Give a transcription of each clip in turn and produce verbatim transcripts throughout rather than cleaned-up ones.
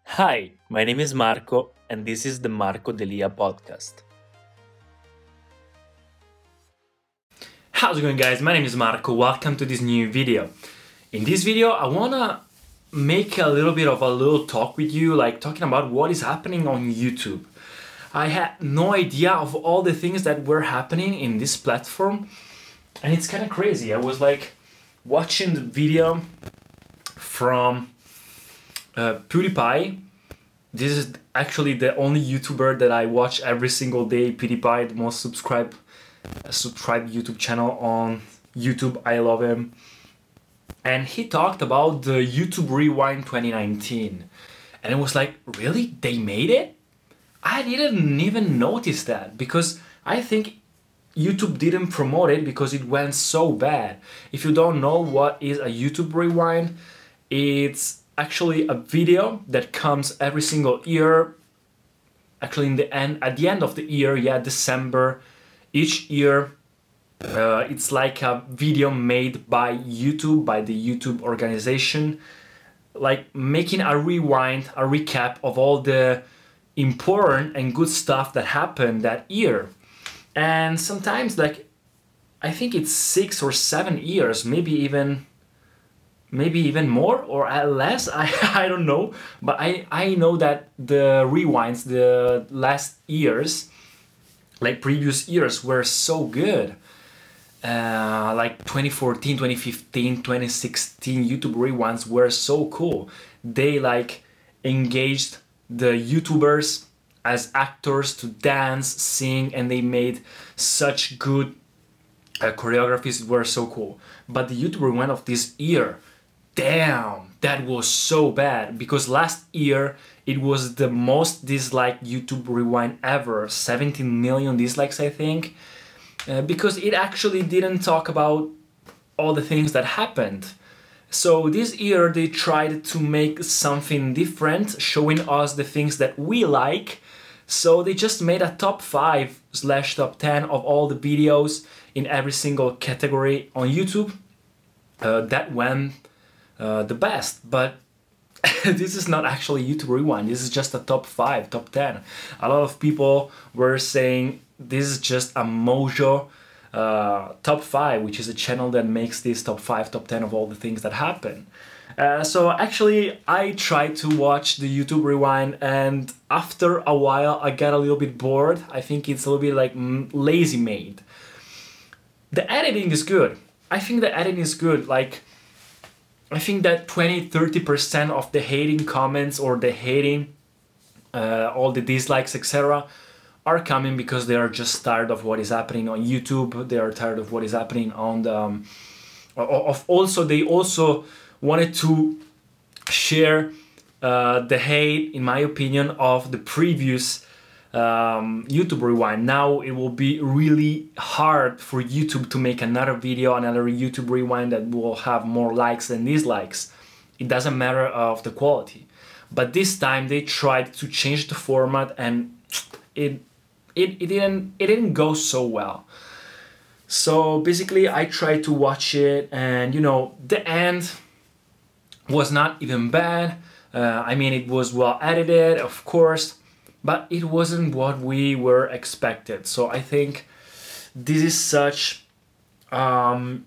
Hi, my name is Marco, and this is the Marco Delia podcast. How's it going, guys? My name is Marco. Welcome to this new video. In this video, I wanna make a little bit of a little talk with you, like talking about what is happening on YouTube. I had no idea of all the things that were happening in this platform, and it's kind of crazy. I was like watching the video from uh, PewDiePie. This is actually the only YouTuber that I watch every single day. PewDiePie, the most subscribed uh, subscribed YouTube channel on YouTube. I love him. And he talked about the YouTube Rewind twenty nineteen. And it was like, really? They made it? I didn't even notice that because I think YouTube didn't promote it because it went so bad. If you don't know what is a YouTube Rewind, it's actually a video that comes every single year. Actually, in the end, at the end of the year, yeah, December, each year, uh, it's like a video made by YouTube, by the YouTube organization, like making a rewind, a recap of all the important and good stuff that happened that year. And sometimes, like, I think it's six or seven years, maybe even maybe even more or less. I, I don't know, but I, I know that the rewinds, the last years, like previous years, were so good. Uh, like twenty fourteen, twenty fifteen, twenty sixteen YouTube rewinds were so cool. They like engaged the YouTubers as actors to dance, sing, and they made such good uh, choreographies. Were so cool. But the YouTube rewind of this year, damn, that was so bad because last year it was the most disliked YouTube rewind ever. seventeen million dislikes, I think, uh, because it actually didn't talk about all the things that happened. So this year they tried to make something different, showing us the things that we like. So they just made a top five slash top ten of all the videos in every single category on YouTube uh, that went Uh, the best. But this is not actually YouTube Rewind. This is just a top five, top ten. A lot of people were saying this is just a Mojo uh, top five, which is a channel that makes this top five, top ten of all the things that happen. Uh, so actually, I tried to watch the YouTube Rewind, and after a while, I got a little bit bored. I think it's a little bit like mm, lazy made. The editing is good. I think the editing is good. Like, I think that twenty to thirty percent of the hating comments or the hating, uh, all the dislikes, et cetera, are coming because they are just tired of what is happening on YouTube. They are tired of what is happening on the. Um, of also, they also wanted to share uh, the hate, in my opinion, of the previous um, YouTube Rewind. Now it will be really hard for YouTube to make another video, another YouTube Rewind that will have more likes than dislikes. It doesn't matter of the quality. But this time they tried to change the format, and it it, it didn't it didn't go so well. So basically I tried to watch it, and you know, the end was not even bad. Uh, I mean, it was well edited, of course, but it wasn't what we were expected. So I think this is such um,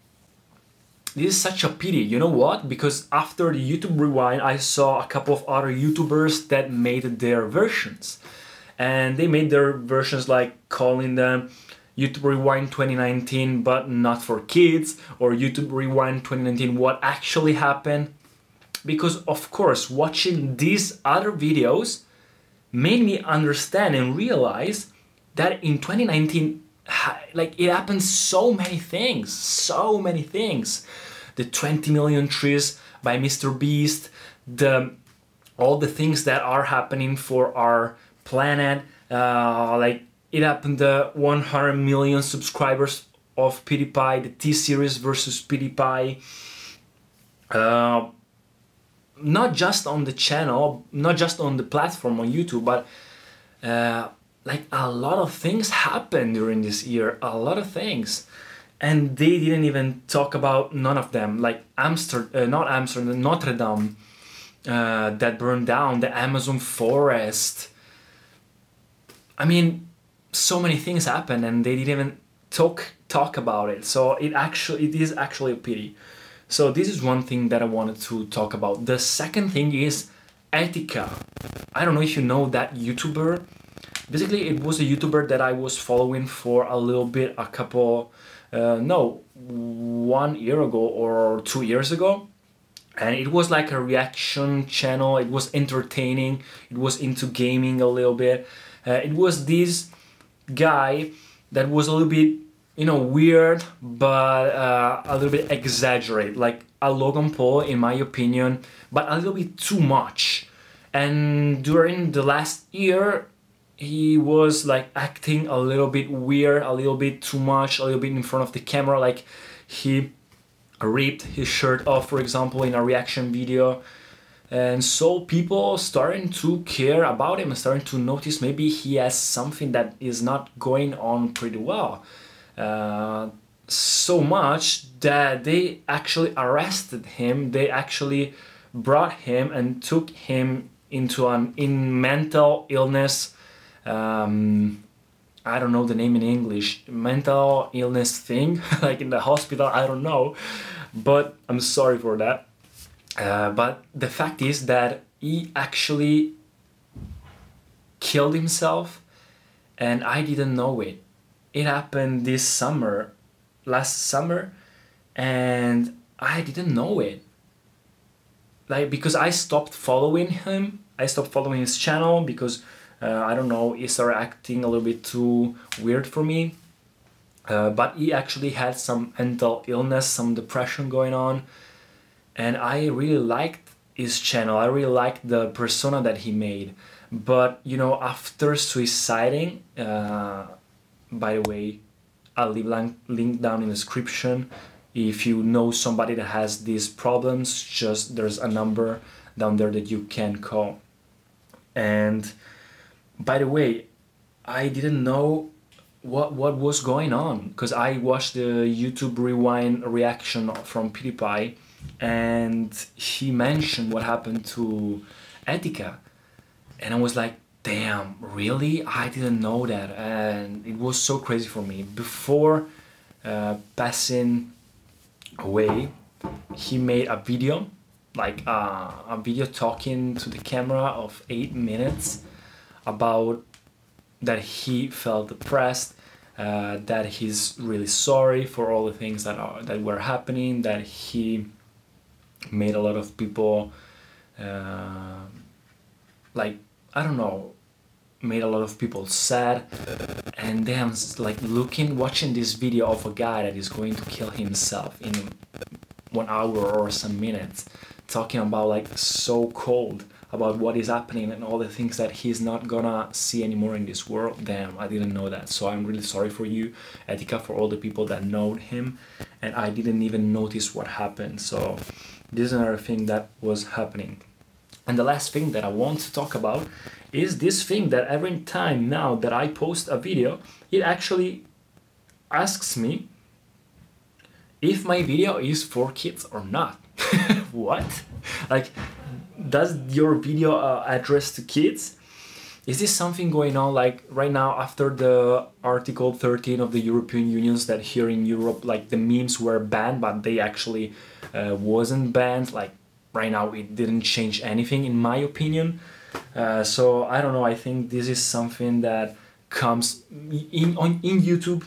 this is such a pity. You know what? Because after the YouTube Rewind, I saw a couple of other YouTubers that made their versions, and they made their versions like calling them YouTube Rewind twenty nineteen, but not for kids, or YouTube Rewind twenty nineteen, what actually happened. Because of course, watching these other videos made me understand and realize that in twenty nineteen, like, it happened so many things, so many things. The twenty million trees by Mister Beast, the all the things that are happening for our planet, uh, like it happened the one hundred million subscribers of PewDiePie, the T-Series versus PewDiePie. Uh, not just on the channel, not just on the platform on YouTube, but uh, like a lot of things happened during this year, a lot of things. And they didn't even talk about none of them, like Amsterdam, uh, not Amsterdam, Notre Dame, uh, that burned down, the Amazon forest. I mean, so many things happened and they didn't even talk talk about it. So it actually it is actually a pity. So this is one thing that I wanted to talk about. The second thing is Etika. I don't know if you know that YouTuber. Basically, it was a YouTuber that I was following for a little bit, a couple, uh, no, one year ago or two years ago. And it was like a reaction channel. It was entertaining. It was into gaming a little bit. Uh, it was this guy that was a little bit, you know, weird, but uh, a little bit exaggerate, like a Logan Paul, in my opinion, but a little bit too much. And during the last year, he was like acting a little bit weird, a little bit too much, a little bit in front of the camera, like he ripped his shirt off, for example, in a reaction video. And so people starting to care about him and starting to notice maybe he has something that is not going on pretty well. Uh, so much that they actually arrested him. They actually brought him and took him into an in mental illness. Um, I don't know the name in English, mental illness thing, like in the hospital, I don't know, but I'm sorry for that. Uh, but the fact is that he actually killed himself and I didn't know it. It happened this summer, last summer, and I didn't know it. Like, because I stopped following him, I stopped following his channel because Uh, I don't know, he started acting a little bit too weird for me. Uh, but he actually had some mental illness, some depression going on. And I really liked his channel. I really liked the persona that he made. But, you know, after suiciding, uh, by the way, I'll leave a link down in the description. If you know somebody that has these problems, just there's a number down there that you can call. And by the way, I didn't know what what was going on because I watched the YouTube Rewind reaction from PewDiePie and he mentioned what happened to Etika and I was like, damn, really? I didn't know that, and it was so crazy for me. Before uh, passing away, he made a video, like uh, a video talking to the camera of eight minutes about that he felt depressed, uh, that he's really sorry for all the things that are that were happening, that he made a lot of people uh, like, I don't know, made a lot of people sad. And then like looking, watching this video of a guy that is going to kill himself in one hour or some minutes, talking about like so cold about what is happening and all the things that he's not gonna see anymore in this world. Damn, I didn't know that. So I'm really sorry for you, Etika, for all the people that know him, and I didn't even notice what happened. So this is another thing that was happening. And the last thing that I want to talk about is this thing that every time now that I post a video, it actually asks me if my video is for kids or not. What? Like, does your video uh, address to kids? Is this something going on like right now after the Article thirteen of the European Union, that here in Europe like the memes were banned but they actually uh, wasn't banned? Like right now it didn't change anything in my opinion. Uh, so I don't know, I think this is something that comes in on in YouTube.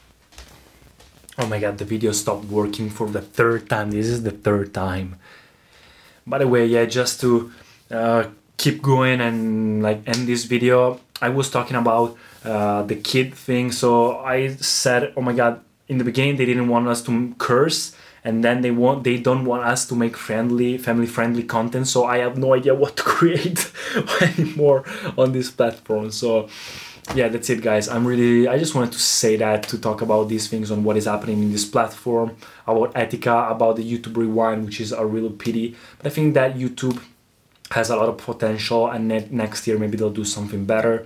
Oh my god, the video stopped working for the third time. This is the third time. By the way, yeah, just to uh, keep going and like end this video, I was talking about uh, the kid thing. So I said, oh my god, in the beginning they didn't want us to curse, and then they want they don't want us to make friendly, family-friendly content. So I have no idea what to create anymore on this platform. So yeah, that's it, guys. I'm really, I just wanted to say that, to talk about these things on what is happening in this platform, about Etika, about the YouTube Rewind, which is a real pity. But I think that YouTube has a lot of potential, and next year maybe they'll do something better.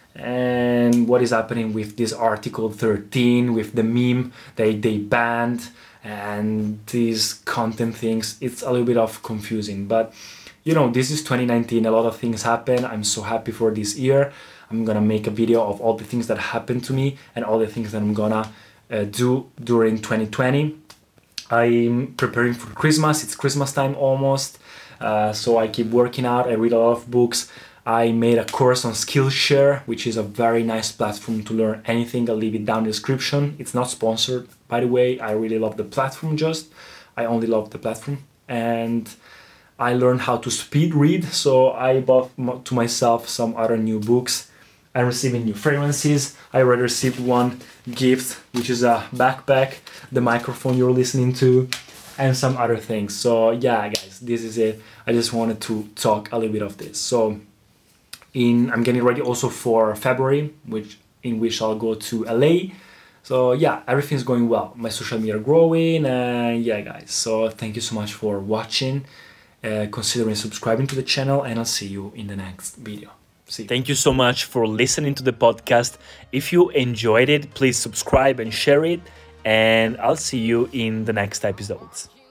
And what is happening with this Article thirteen, with the meme they, they banned, and these content things, it's a little bit of confusing. But you know, this is twenty nineteen, a lot of things happen. I'm so happy for this year. I'm gonna make a video of all the things that happened to me and all the things that I'm gonna uh, do during twenty twenty. I'm preparing for Christmas. It's Christmas time almost, uh, so I keep working out. I read a lot of books. I made a course on Skillshare, which is a very nice platform to learn anything. I'll leave it down in the description. It's not sponsored, by the way. I really love the platform just. I only love the platform. And I learned how to speed read, so I bought to myself some other new books. I'm receiving new fragrances. I already received one gift, which is a backpack, the microphone you're listening to, and some other things. So yeah, guys, this is it. I just wanted to talk a little bit of this. So in I'm getting ready also for February, which in which I'll go to L A. So yeah, everything's going well. My social media are growing, and yeah, guys. So thank you so much for watching. Uh, considering subscribing to the channel, and I'll see you in the next video. See you. Thank you so much for listening to the podcast. If you enjoyed it, please subscribe and share it, and I'll see you in the next episodes.